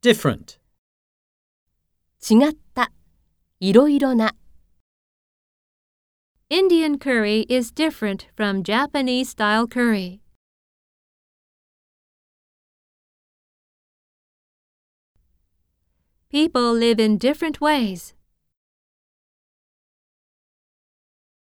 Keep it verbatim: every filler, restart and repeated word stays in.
different. 違った、いろいろな。 Indian curry is different from Japanese-style curry. People live in different ways.